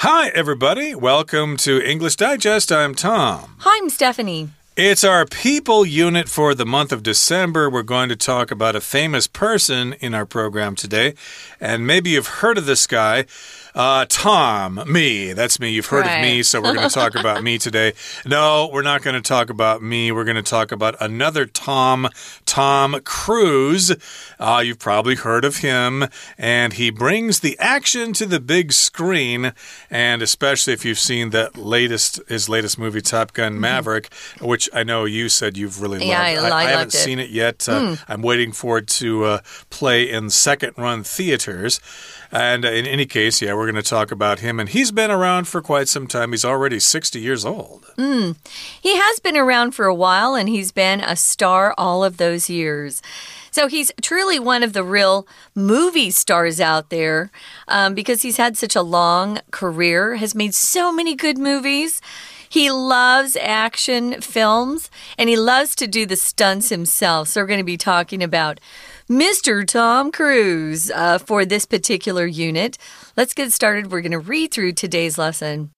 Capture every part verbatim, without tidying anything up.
Hi, everybody. Welcome to English Digest. I'm Tom. Hi, I'm Stephanie. It's our people unit for the month of December. We're going to talk about a famous person in our program today. And maybe you've heard of this guy. Uh, Tom, me. That's me. You've heard right. of me, so we're going to talk about me today. No, we're not going to talk about me. We're going to talk about another Tom, Tom Cruise. Uh, you've probably heard of him, and he brings the action to the big screen, and especially if you've seen that latest, his latest movie, Top Gun Maverick, mm-hmm. which I know you said you've really loved. Yeah, I, I, I, I haven't loved it. seen it yet. Uh, mm. I'm waiting for it to uh, play in second-run theaters. And in any case, yeah, we're going to talk about him. And he's been around for quite some time. He's already sixty years old. Mm. He has been around for a while, and he's been a star all of those years. So he's truly one of the real movie stars out there um, because he's had such a long career, has made so many good movies. He loves action films, and he loves to do the stunts himself. So we're going to be talking about Mister Tom Cruise uh, for this particular unit. Let's get started. We're going to read through today's lesson.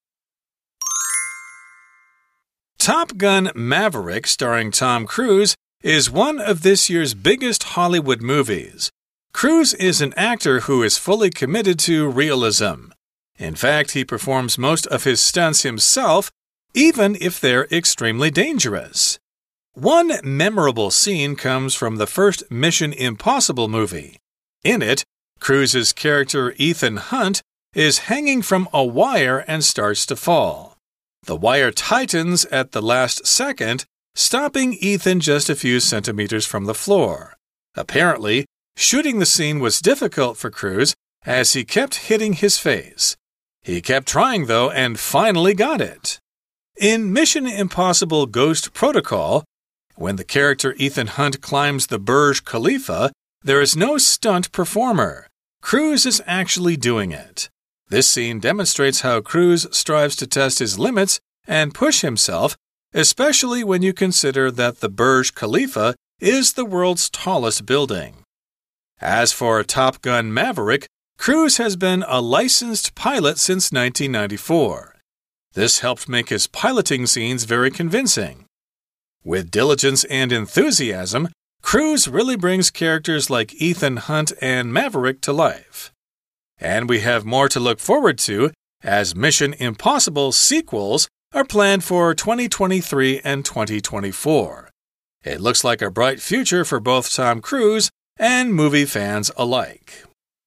Top Gun Maverick, starring Tom Cruise, is one of this year's biggest Hollywood movies. Cruise is an actor who is fully committed to realism. In fact, he performs most of his stunts himself, even if they're extremely dangerous. One memorable scene comes from the first Mission Impossible movie. In it, Cruise's character Ethan Hunt is hanging from a wire and starts to fall. The wire tightens at the last second, stopping Ethan just a few centimeters from the floor. Apparently, shooting the scene was difficult for Cruise as he kept hitting his face. He kept trying, though, and finally got it. In Mission Impossible Ghost Protocol, when the character Ethan Hunt climbs the Burj Khalifa, there is no stunt performer. Cruise is actually doing it. This scene demonstrates how Cruise strives to test his limits and push himself, especially when you consider that the Burj Khalifa is the world's tallest building. As for Top Gun Maverick, Cruise has been a licensed pilot since nineteen ninety-four. This helped make his piloting scenes very convincing. With diligence and enthusiasm, Cruise really brings characters like Ethan Hunt and Maverick to life. And we have more to look forward to as Mission Impossible sequels are planned for twenty twenty-three and twenty twenty-four. It looks like a bright future for both Tom Cruise and movie fans alike.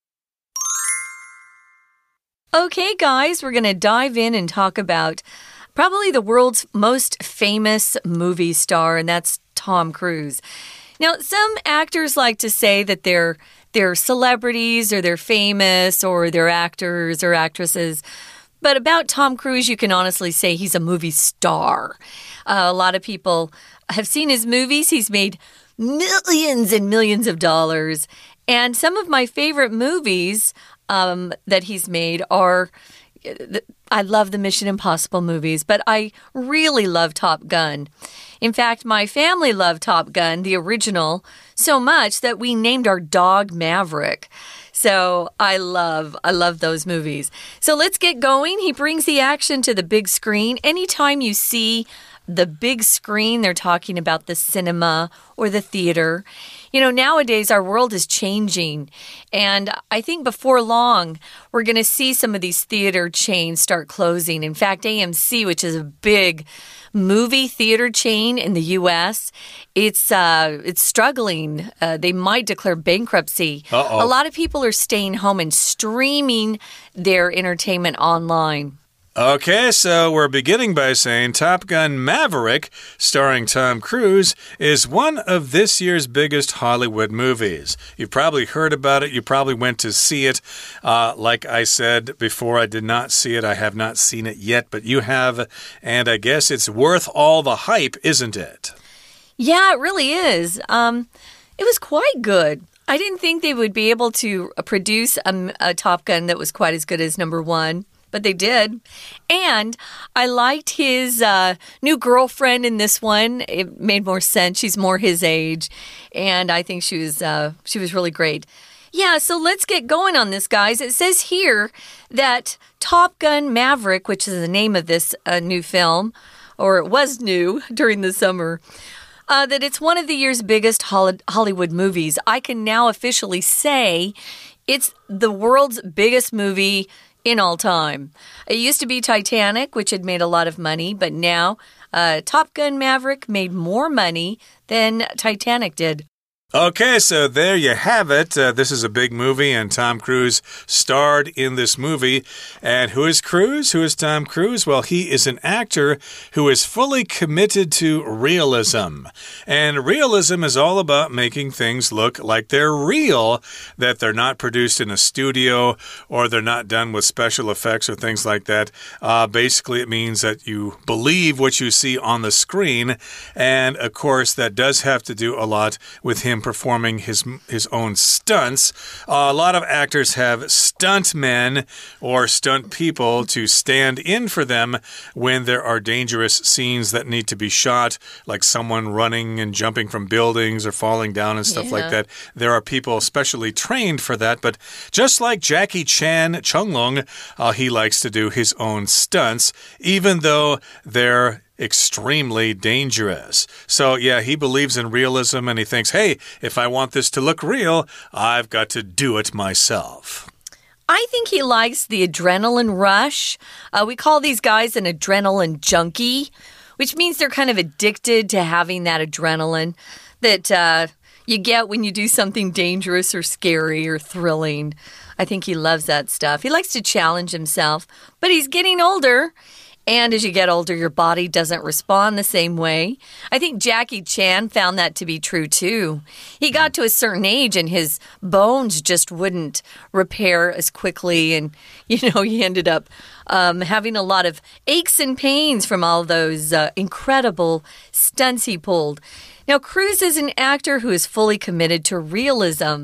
Okay, guys, we're going to dive in and talk about probably the world's most famous movie star, and that's Tom Cruise. Now, some actors like to say that they're they're celebrities or they're famous or they're actors or actresses. But about Tom Cruise, you can honestly say he's a movie star. Uh, a lot of people have seen his movies. He's made millions and millions of dollars. And some of my favorite movies um, that he's made are... I love the Mission Impossible movies, but I really love Top Gun. In fact, my family loved Top Gun, the original, so much that we named our dog Maverick. So I love, I love those movies. So let's get going. He brings the action to the big screen. Anytime you see the big screen, they're talking about the cinema or the theater. You know, nowadays our world is changing, and I think before long we're going to see some of these theater chains start closing. In fact, A M C, which is a big movie theater chain in the U S, it's uh, it's struggling. Uh, they might declare bankruptcy. Uh-oh. A lot of people are staying home and streaming their entertainment online. Okay, so we're beginning by saying Top Gun Maverick, starring Tom Cruise, is one of this year's biggest Hollywood movies. You've probably heard about it. You probably went to see it. Uh, like I said before, I did not see it. I have not seen it yet, but you have, and I guess it's worth all the hype, isn't it? Yeah, it really is. Um, it was quite good. I didn't think they would be able to produce a, a Top Gun that was quite as good as number one. But they did. And I liked his uh, new girlfriend in this one. It made more sense. She's more his age. And I think she was uh, she was really great. Yeah, so let's get going on this, guys. It says here that Top Gun Maverick, which is the name of this uh, new film, or it was new during the summer, uh, that it's one of the year's biggest Hollywood movies. I can now officially say it's the world's biggest movie in all time. It used to be Titanic, which had made a lot of money, but now uh, Top Gun Maverick made more money than Titanic did. Okay, so there you have it. Uh, this is a big movie, and Tom Cruise starred in this movie. And who is Cruise? Who is Tom Cruise? Well, he is an actor who is fully committed to realism. And realism is all about making things look like they're real, that they're not produced in a studio or they're not done with special effects or things like that. Uh, basically, it means that you believe what you see on the screen. And, of course, that does have to do a lot with him performing his his own stunts. Uh, a lot of actors have stunt men or stunt people to stand in for them when there are dangerous scenes that need to be shot, like someone running and jumping from buildings or falling down and stuff yeah. like that. There are people specially trained for that, but just like Jackie Chan Chung-Long, uh, he likes to do his own stunts, even though they're extremely dangerous. So, yeah, he believes in realism and he thinks, hey, if I want this to look real, I've got to do it myself. I think he likes the adrenaline rush. Uh, we call these guys an adrenaline junkie, which means they're kind of addicted to having that adrenaline that uh, you get when you do something dangerous or scary or thrilling. I think he loves that stuff. He likes to challenge himself, but he's getting older. And as you get older, your body doesn't respond the same way. I think Jackie Chan found that to be true, too. He got to a certain age and his bones just wouldn't repair as quickly. And, you know, he ended up um, having a lot of aches and pains from all those uh, incredible stunts he pulled. Now, Cruise is an actor who is fully committed to realism.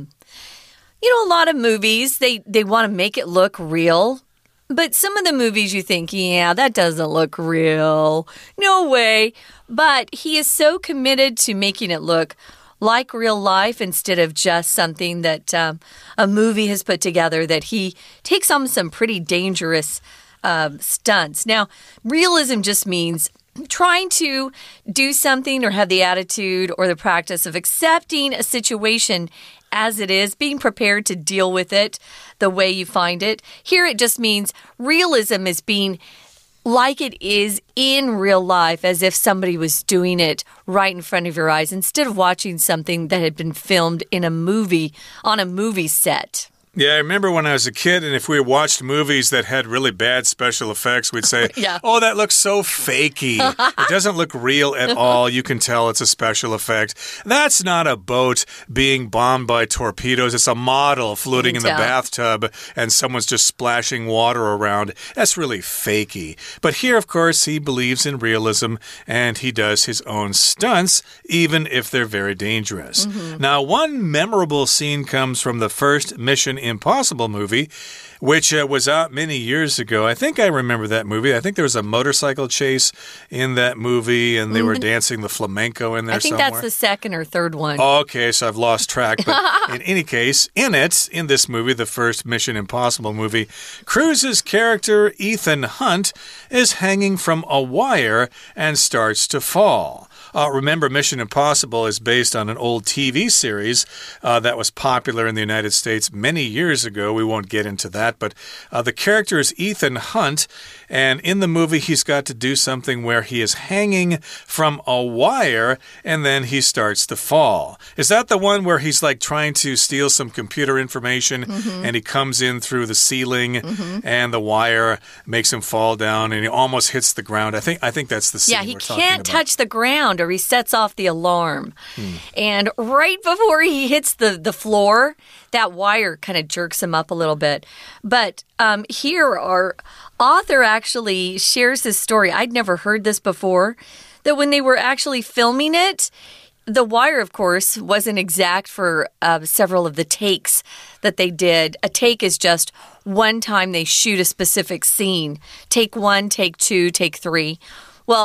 You know, a lot of movies, they, they want to make it look real. But some of the movies you think, yeah, that doesn't look real. No way. But he is so committed to making it look like real life instead of just something that um, a movie has put together, that he takes on some pretty dangerous uh, stunts. Now, realism just means trying to do something or have the attitude or the practice of accepting a situation as it is, being prepared to deal with it the way you find it. Here it just means realism is being like it is in real life, as if somebody was doing it right in front of your eyes, instead of watching something that had been filmed in a movie, on a movie set. Yeah, I remember when I was a kid, and if we watched movies that had really bad special effects, we'd say, yeah. oh, that looks so fakey. It doesn't look real at all. You can tell it's a special effect. That's not a boat being bombed by torpedoes. It's a model floating in the bathtub, and someone's just splashing water around. That's really fakey. But here, of course, he believes in realism, and he does his own stunts, even if they're very dangerous. Mm-hmm. Now, one memorable scene comes from the first Mission Impossible movie, which uh, was out many years ago. I think I remember that movie. I think there was a motorcycle chase in that movie, and they were dancing the flamenco in there I think somewhere. That's the second or third one. Okay, so I've lost track. But in any case, in it, in this movie, the first Mission Impossible movie, Cruise's character, Ethan Hunt, is hanging from a wire and starts to fall. Uh, remember, Mission Impossible is based on an old T V series uh, that was popular in the United States many years ago. We won't get into that, but uh, the character is Ethan Hunt, and in the movie, he's got to do something where he is hanging from a wire, and then he starts to fall. Is that the one where he's like trying to steal some computer information, mm-hmm. and he comes in through the ceiling, mm-hmm. and the wire makes him fall down, and he almost hits the ground? I think I think that's the scene yeah, he we're talking can't about. touch the ground, or he sets off the alarm. Hmm. And right before he hits the, the floor, that wire kind of jerks him up a little bit. But um, here, our author actually shares this story. I'd never heard this before, that when they were actually filming it, the wire, of course, wasn't exact for uh, several of the takes that they did. A take is just one time they shoot a specific scene. Take one, take two, take three. Well,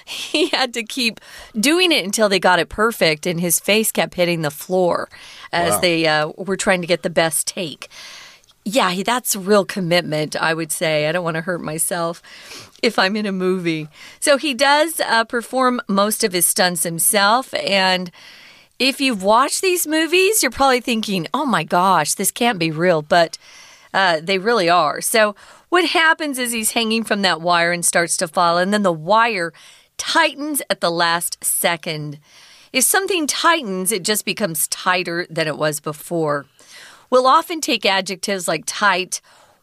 he had to keep doing it until they got it perfect, and his face kept hitting the floor as wow. they uh, were trying to get the best take. Yeah, that's real commitment, I would say. I don't want to hurt myself if I'm in a movie. So he does uh, perform most of his stunts himself, and if you've watched these movies, you're probably thinking, oh my gosh, this can't be real, but uh, they really are. So what happens is he's hanging from that wire and starts to fall, and then the wire tightens at the last second. If something tightens, it just becomes tighter than it was before. We'll often take adjectives like tight,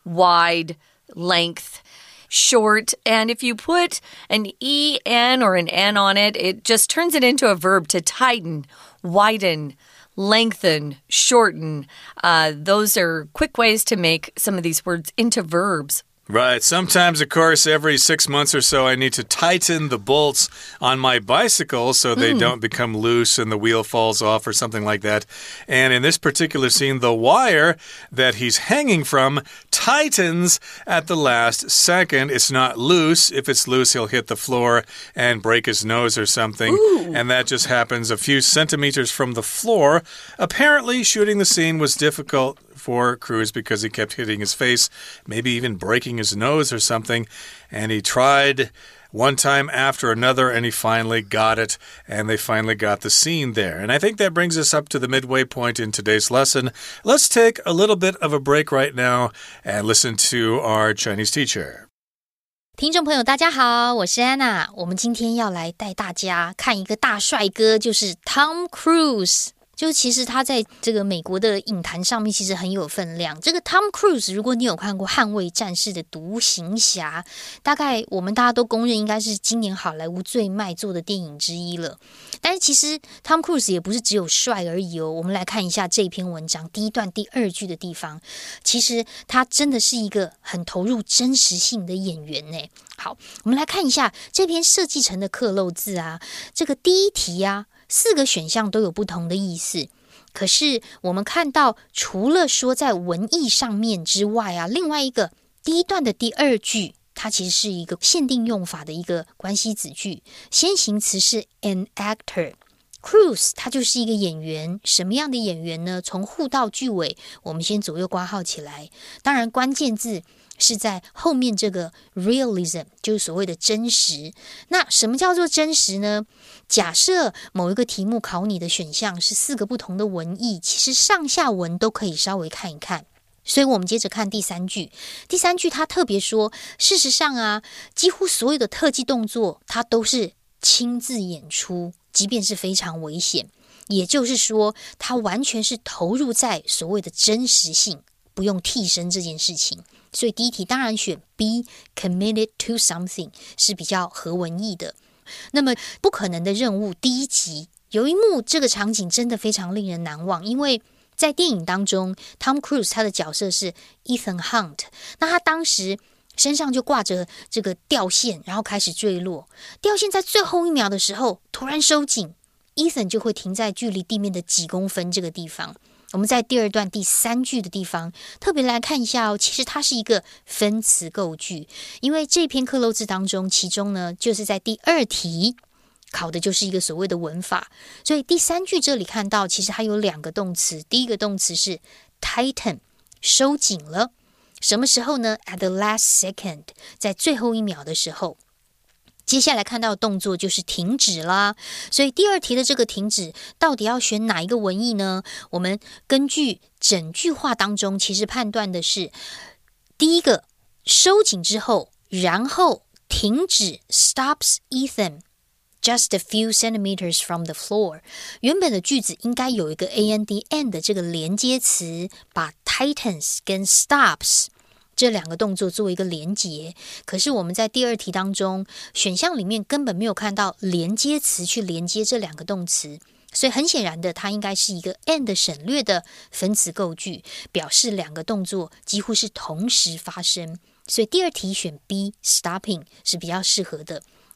wide, length, short, and if you put an E N or an N on it, it just turns it into a verb to tighten, widen, lengthen, shorten. Uh, those are quick ways to make some of these words into verbs. Right. Sometimes, of course, every six months or so, I need to tighten the bolts on my bicycle so they mm. don't become loose and the wheel falls off or something like that. And in this particular scene, the wire that he's hanging from tightens at the last second. It's not loose. If it's loose, he'll hit the floor and break his nose or something. Ooh. And that just happens a few centimeters from the floor. Apparently, shooting the scene was difficult for Cruise because he kept hitting his face, maybe even breaking his nose or something. And he tried one time after another, and he finally got it, and they finally got the scene there. And I think that brings us up to the midway point in today's lesson. Let's take a little bit of a break right now and listen to our Chinese teacher. 听众朋友大家好，我是 Anna。 我们今天要来带大家看一個大帥哥，就是 Tom Cruise。就其實他在這個美國的影壇上面其實很有分量。這個 Tom Cruise 如果你有看過捍衛戰士的獨行俠，大概我們大家都公認應該是今年好萊塢最賣座的電影之一了。但是其實 Tom Cruise 也不是只有帥而已哦。我們來看一下這篇文章第一段第二句的地方，其實他真的是一個很投入真實性的演員呢。好，我們來看一下這篇設計成的克漏字啊，這個第一題啊，四個選項都有不同的意思，可是我們看到除了說在文意上面之外啊，另外一個第一段的第二句，它其實是一個限定用法的一個關係子句，先行詞是 an actor。 Cruise 他就是一個演員，什麼樣的演員呢？從戶到句尾我們先左右括號起來，當然關鍵字是在後面這個 realism， 就是所謂的真實。那什麼叫做真實呢？假設某一個題目考你的選項是四個不同的文意，其實上下文都可以稍微看一看。所以我們接着看第三句，第三句他特別說，事實上啊，幾乎所有的特技動作他都是親自演出，即便是非常危險。也就是說，他完全是投入在所謂的真實性，不用替身這件事情。所以第一題當然選 be committed to something 是比較合文意的。那麼不可能的任務第一集有一幕，這個場景真的非常令人難忘，因為在電影當中 Tom Cruise 他的角色是 Ethan Hunt， 那他當時身上就掛着這個吊線，然後開始墜落，吊線在最後一秒的時候突然收緊， Ethan 就會停在距離地面的幾公分這個地方。我們在第二段第三句的地方特別來看一下哦，其實它是一個分詞構句，因為這篇克漏字當中，其中呢就是在第二題考的就是一個所謂的文法，所以第三句這裡看到其實它有兩個動詞，第一個動詞是 tighten， 收緊了，什麼時候呢？ At the last second， 在最後一秒的時候。接下來看到的動作就是停止啦，所以第二題的這個停止到底要選哪一個文意呢？我們根據整句話當中其實判斷的是第一個收緊之後，然後停止 stops Ethan just a few centimeters from the floor。 原本的句子應該有一個 and and 的這個連接詞，把 tightens 跟 stops這兩個動作做一個連結，可是我們在第二題當中選項裡面根本沒有看到連接詞去連接這兩個動詞，所以很顯然的它應該是一個 and 省略的分詞構句，表示兩個動作幾乎是同時發生，所以第二題選 B stopping 是比較適合的。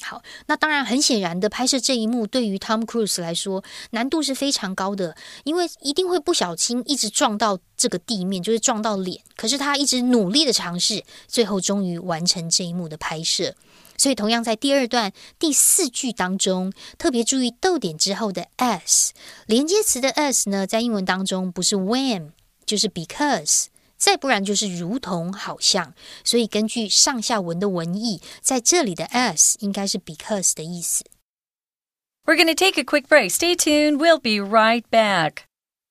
好，那當然很顯然的，拍攝這一幕對於 Tom Cruise 來說難度是非常高的，因為一定會不小心一直撞到這個地面，就是撞到臉。可是他一直努力的嘗試，最後終於完成這一幕的拍攝。所以同樣在第二段第四句當中，特別注意逗點之後的 as 連接詞的 as 呢，在英文當中不是 when 就是 because。再不然就是如同好像，所以根據上下文的文意，在這裡的 as 應該是 because 的意思。 We're going to take a quick break. Stay tuned. We'll be right back.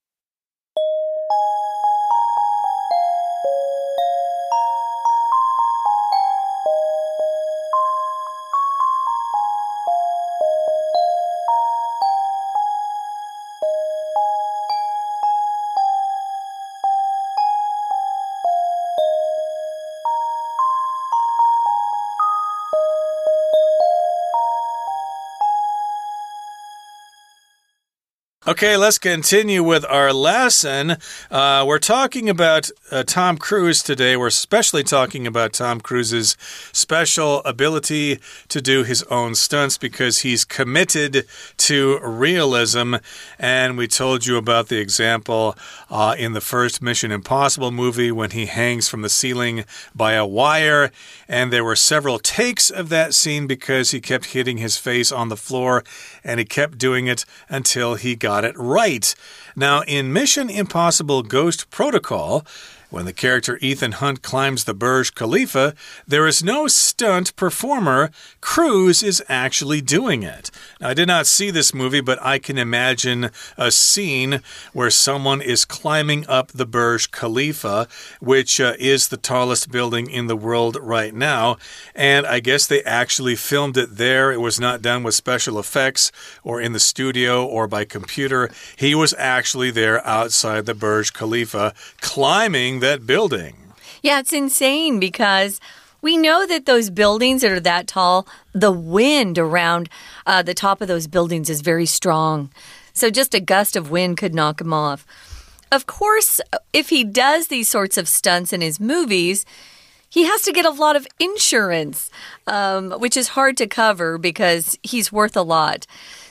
Okay, let's continue with our lesson. Uh, we're talking about uh, Tom Cruise today. We're especially talking about Tom Cruise's special ability to do his own stunts because he's committed to realism. And we told you about the example uh, in the first Mission Impossible movie when he hangs from the ceiling by a wire. And there were several takes of that scene because he kept hitting his face on the floor and he kept doing it until he got it right. Now, in Mission Impossible Ghost Protocol, when the character Ethan Hunt climbs the Burj Khalifa, there is no stunt performer. Cruise is actually doing it. Now, I did not see this movie, but I can imagine a scene where someone is climbing up the Burj Khalifa, which uh, is the tallest building in the world right now. And I guess they actually filmed it there. It was not done with special effects or in the studio or by computer. He was actually there outside the Burj Khalifa climbing that building. Yeah, it's insane because we know that those buildings that are that tall, the wind around uh, the top of those buildings is very strong. So just a gust of wind could knock him off. Of course, if he does these sorts of stunts in his movies, he has to get a lot of insurance, um, which is hard to cover because he's worth a lot.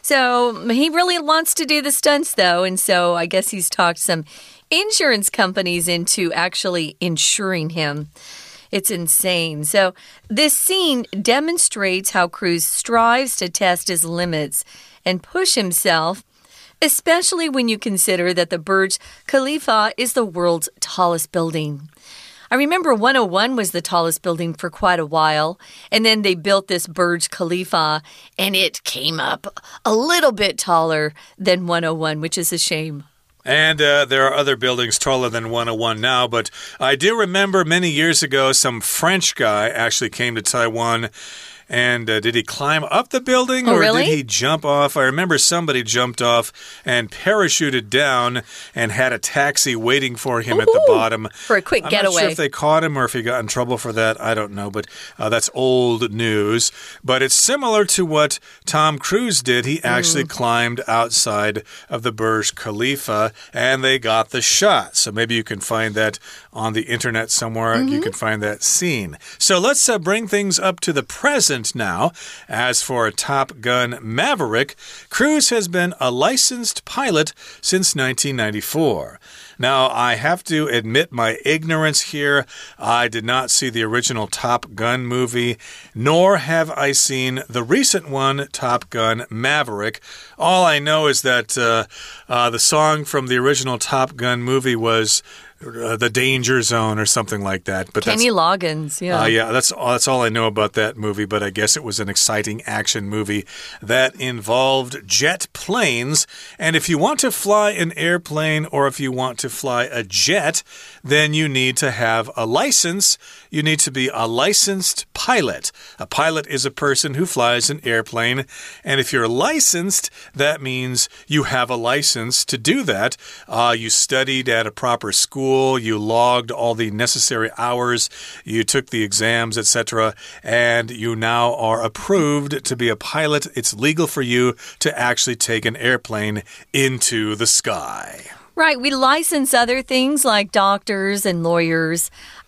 So he really wants to do the stunts, though, and so I guess he's talked some insurance companies into actually insuring him. It's insane. So this scene demonstrates how Cruise strives to test his limits and push himself, especially when you consider that the Burj Khalifa is the world's tallest building. I remember one oh one was the tallest building for quite a while, and then they built this Burj Khalifa, and it came up a little bit taller than one oh one, which is a shame. And uh, there are other buildings taller than one oh one now, but I do remember many years ago some French guy actually came to Taiwan. And uh, did he climb up the building oh, or really? did he jump off? I remember somebody jumped off and parachuted down and had a taxi waiting for him Ooh, at the bottom. For a quick I'm getaway. I'm not sure if they caught him or if he got in trouble for that. I don't know, but uh, that's old news. But it's similar to what Tom Cruise did. He actually mm. climbed outside of the Burj Khalifa and they got the shot. So maybe you can find that on the internet somewhere. Mm-hmm. You can find that scene. So let's uh, bring things up to the present now. As for Top Gun Maverick, Cruise has been a licensed pilot since nineteen ninety-four. Now, I have to admit my ignorance here. I did not see the original Top Gun movie, nor have I seen the recent one, Top Gun Maverick. All I know is that uh, uh, the song from the original Top Gun movie was Uh, the Danger Zone or something like that. But Kenny Loggins, yeah. Uh, yeah, that's, that's all I know about that movie, but I guess it was an exciting action movie that involved jet planes. And if you want to fly an airplane or if you want to fly a jet, then you need to have a license. You need to be a licensed pilot. A pilot is a person who flies an airplane. And if you're licensed, that means you have a license to do that. Uh, you studied at a proper school. You logged all the necessary hours, you took the exams, et cetera, and you now are approved to be a pilot. It's legal for you to actually take an airplane into the sky. Right, we license other things like doctors and lawyers.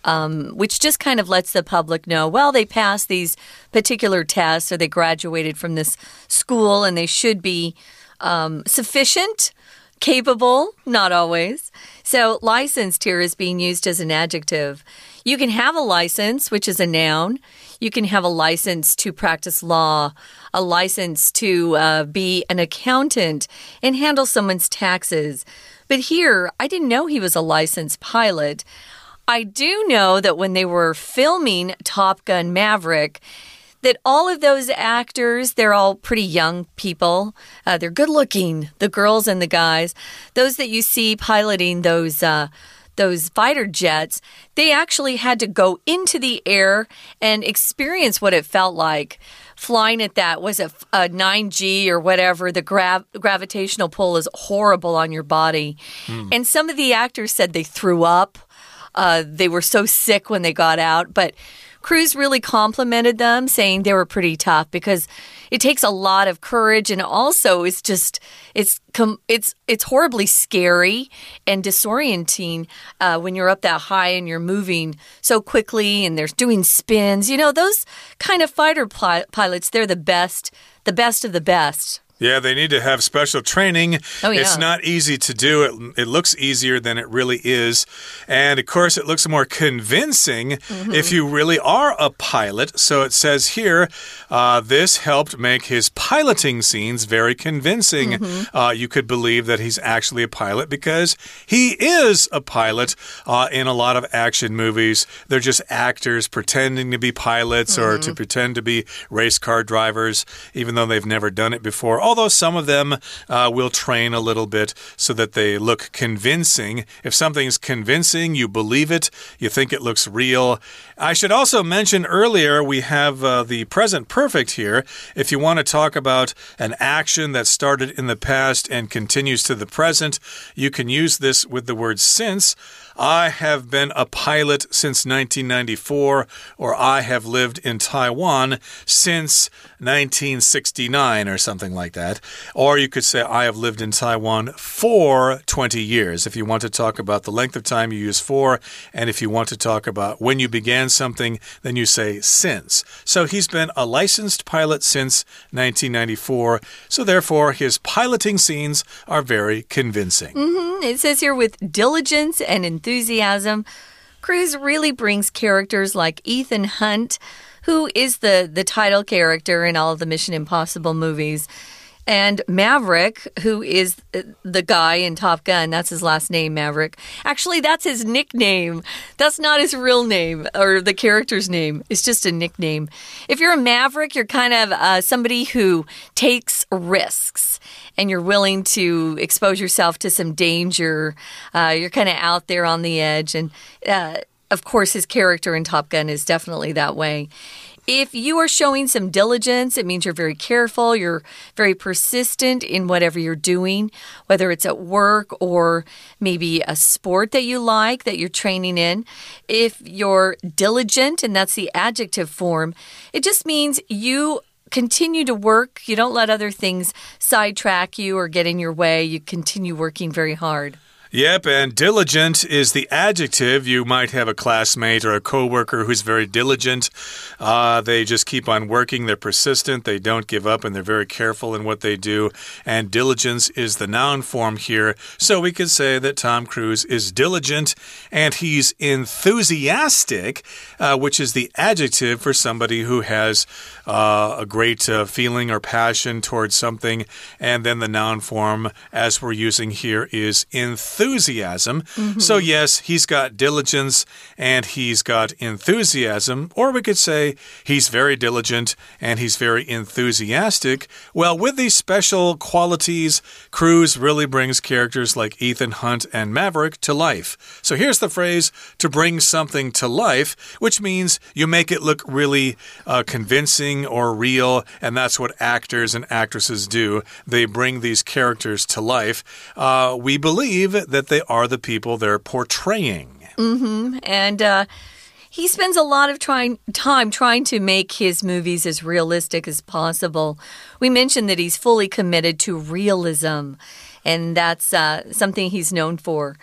um, which just kind of lets the public know, well, they passed these particular tests or they graduated from this school and they should be um, sufficient, capable, not always. So licensed here is being used as an adjective. You can have a license, which is a noun. You can have a license to practice law, a license to uh, be an accountant and handle someone's taxes. But here, I didn't know he was a licensed pilot. I do know that when they were filming Top Gun Maverick, that all of those actors, they're all pretty young people. Uh, they're good looking, the girls and the guys. Those that you see piloting those uh, those fighter jets, they actually had to go into the air and experience what it felt like. Flying at that, was it a nine G or whatever, the grav gravitational pull is horrible on your body. Mm. And some of the actors said they threw up. Uh, they were so sick when they got out. But Cruise really complimented them, saying they were pretty tough because it takes a lot of courage, and also it's just it's it's it's horribly scary and disorienting uh, when you're up that high and you're moving so quickly and they're doing spins. You know, those kind of fighter pil pilots, they're the best, the best of the best. Yeah, they need to have special training. Oh, yeah. It's not easy to do. It, it looks easier than it really is. And, of course, it looks more convincing mm-hmm. if you really are a pilot. So it says here, uh, this helped make his piloting scenes very convincing. Mm-hmm. uh, you could believe that he's actually a pilot because he is a pilot uh, in a lot of action movies. They're just actors pretending to be pilots mm-hmm. or to pretend to be race car drivers, even though they've never done it before. Although some of them uh, will train a little bit so that they look convincing. If something's convincing, you believe it, you think it looks real. I should also mention earlier we have uh, the present perfect here. If you want to talk about an action that started in the past and continues to the present, you can use this with the word since. I have been a pilot since nineteen ninety-four, or I have lived in Taiwan since nineteen sixty-nine, or something like that. Or you could say, I have lived in Taiwan for twenty years. If you want to talk about the length of time, you use for. And if you want to talk about when you began something, then you say since. So he's been a licensed pilot since nineteen ninety-four. So therefore, his piloting scenes are very convincing. Mm-hmm. It says here with diligence and enthusiasm. Enthusiasm. Cruise really brings characters like Ethan Hunt, who is the, the title character in all of the Mission Impossible movies, and Maverick, who is the guy in Top Gun. That's his last name, Maverick. Actually, that's his nickname. That's not his real name or the character's name. It's just a nickname. If you're a Maverick, you're kind of uh, somebody who takes risks and you're willing to expose yourself to some danger. Uh, you're kind of out there on the edge. And, uh, of course, his character in Top Gun is definitely that way. If you are showing some diligence, it means you're very careful, you're very persistent in whatever you're doing, whether it's at work or maybe a sport that you like, that you're training in. If you're diligent, and that's the adjective form, it just means you continue to work. You don't let other things sidetrack you or get in your way. You continue working very hard. Yep, and diligent is the adjective. You might have a classmate or a coworker who's very diligent. Uh, they just keep on working. They're persistent. They don't give up, and they're very careful in what they do. And diligence is the noun form here. So we could say that Tom Cruise is diligent, and he's enthusiastic, uh, which is the adjective for somebody who has uh, a great uh, feeling or passion towards something. And then the noun form, as we're using here, is enthusiastic. Enthusiasm. Mm-hmm. So yes, he's got diligence and he's got enthusiasm, or we could say he's very diligent and he's very enthusiastic. Well, with these special qualities, Cruise really brings characters like Ethan Hunt and Maverick to life. So here's the phrase, to bring something to life, which means you make it look really uh, convincing or real, and that's what actors and actresses do. They bring these characters to life. Uh, we believe that that they are the people they're portraying. Mm-hmm. And uh, he spends a lot of trying, time trying to make his movies as realistic as possible. We mentioned that he's fully committed to realism, and that's uh, something he's known for.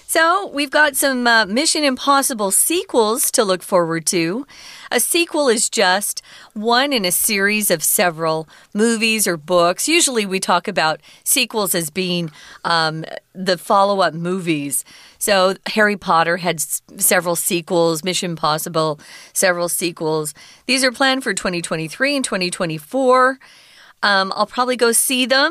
So, we've got some uh, Mission Impossible sequels to look forward to. A sequel is just one in a series of several movies or books. Usually we talk about sequels as being um, the follow-up movies. So Harry Potter had s several sequels, Mission Impossible, several sequels. These are planned for twenty twenty-three and twenty twenty-four. Um, I'll probably go see them.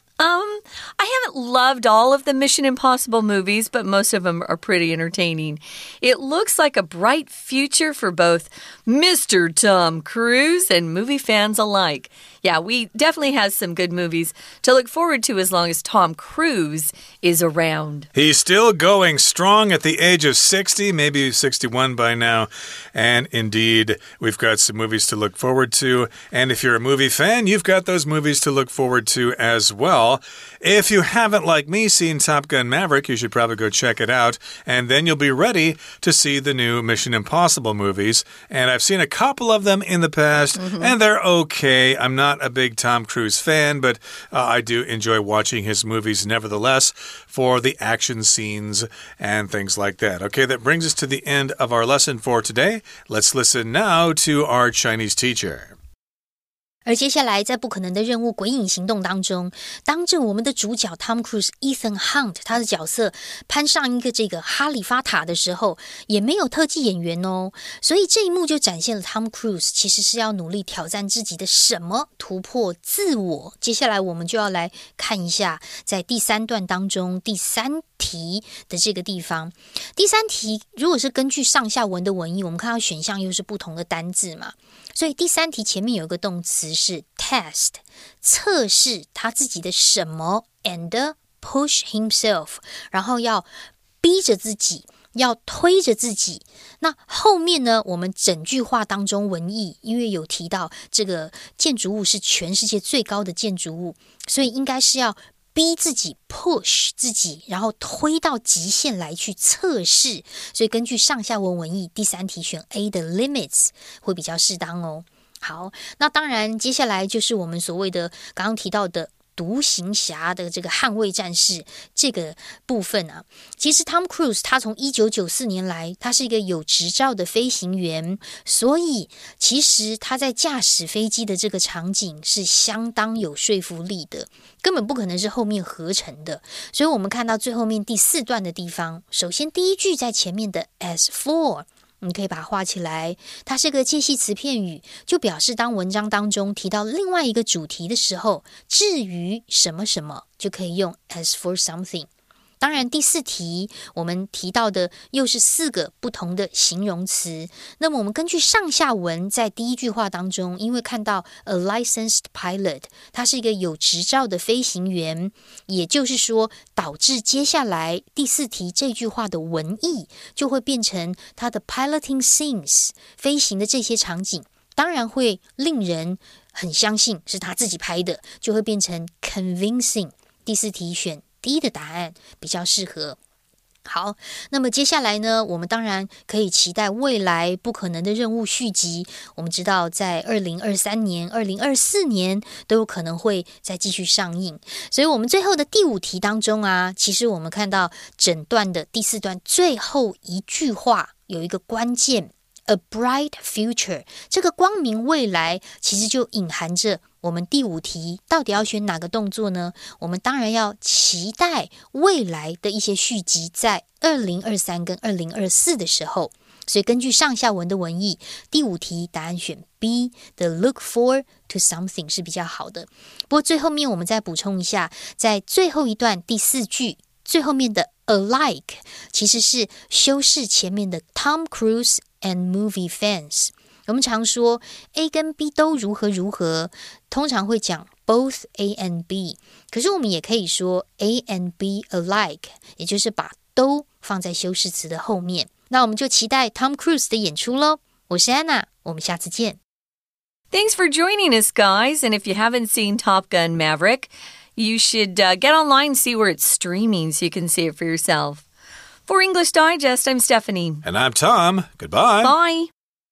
Um, I haven't loved all of the Mission Impossible movies, but most of them are pretty entertaining. It looks like a bright future for both Mister Tom Cruise and movie fans alike. Yeah, we definitely have some good movies to look forward to as long as Tom Cruise is around. He's still going strong at the age of sixty, maybe sixty-one by now. And indeed, we've got some movies to look forward to. And if you're a movie fan, you've got those movies to look forward to as well. If you haven't, like me, seen Top Gun Maverick, you should probably go check it out. And then you'll be ready to see the new Mission Impossible movies. And I've seen a couple of them in the past, mm-hmm. and they're okay. I'm not a big Tom Cruise fan, but uh, I do enjoy watching his movies nevertheless for the action scenes and things like that. Okay, that brings us to the end of our lesson for today. Let's listen now to our Chinese teacher. 而接下来在不可能的任务鬼影行动當中，當着我們的主角 Tom Cruise Ethan Hunt 他的角色攀上一個這個哈利法塔的時候，也沒有特技演員哦，所以這一幕就展現了 Tom Cruise 其實是要努力挑戰自己的什麼，突破自我。接下來我們就要來看一下在第三段當中第三題的這個地方。第三題如果是根據上下文的文意，我們看到選項又是不同的單字嘛，所以第三題前面有一個動詞是 test 測試他自己的什麼 and push himself 然後要逼着自己要推着自己。那後面呢我們整句話當中文意因為有提到這個建築物是全世界最高的建築物，所以應該是要逼自己 push 自己，然後推到極限來去測試，所以根據上下文文意第三題選 A 的 limits 會比較適當哦。好，那當然接下來就是我們所謂的剛剛提到的獨行俠的這個捍衛戰士這個部分啊，其實 Tom Cruise 他從一九九四年來他是一個有執照的飛行員，所以其實他在駕駛飛機的這個場景是相當有說服力的，根本不可能是後面合成的。所以我們看到最後面第四段的地方，首先第一句在前面的 as for你可以把它畫起來，它是個介系詞片語，就表示當文章當中提到另外一個主題的時候，至於什麼什麼就可以用 as for something。當然第四題我們提到的又是四個不同的形容詞，那麼我們根據上下文在第一句話當中，因為看到 a licensed pilot 他是一個有執照的飛行員，也就是說導致接下來第四題這句話的文意就會變成他的 piloting scenes 飛行的這些場景當然會令人很相信是他自己拍的，就會變成 convincing。第四題選第一的答案比較適合。好，那麼接下來呢，我們當然可以期待未來不可能的任務續集。我們知道在二零二三年、二零二四年都有可能會再繼續上映。所以我們最後的第五題當中啊，其實我們看到整段的第四段最後一句話有一個關鍵 A bright future 這個光明未來其實就隱含着我們第五題到底要選哪個動作呢？我們當然要期待未來的一些續集在二零二三跟二零二四的時候，所以根據上下文的文意，第五題答案選 B The look forward to something 是比較好的。不過最後面我們再補充一下，在最後一段第四句最後面的 alike 其實是修飾前面的 Tom Cruise and movie fans。我們常說 A 跟 B 都如何如何，通常會講 both A and B， 可是我們也可以說 A and B alike， 也就是把都放在修飾詞的後面。那我們就期待 Tom Cruise 的演出咯。我是安娜，我們下次見。 Thanks for joining us, guys. And if you haven't seen Top Gun Maverick, you should uh, get online and see where it's streaming so you can see it for yourself. For English Digest, I'm Stephanie. And I'm Tom. Goodbye. Bye.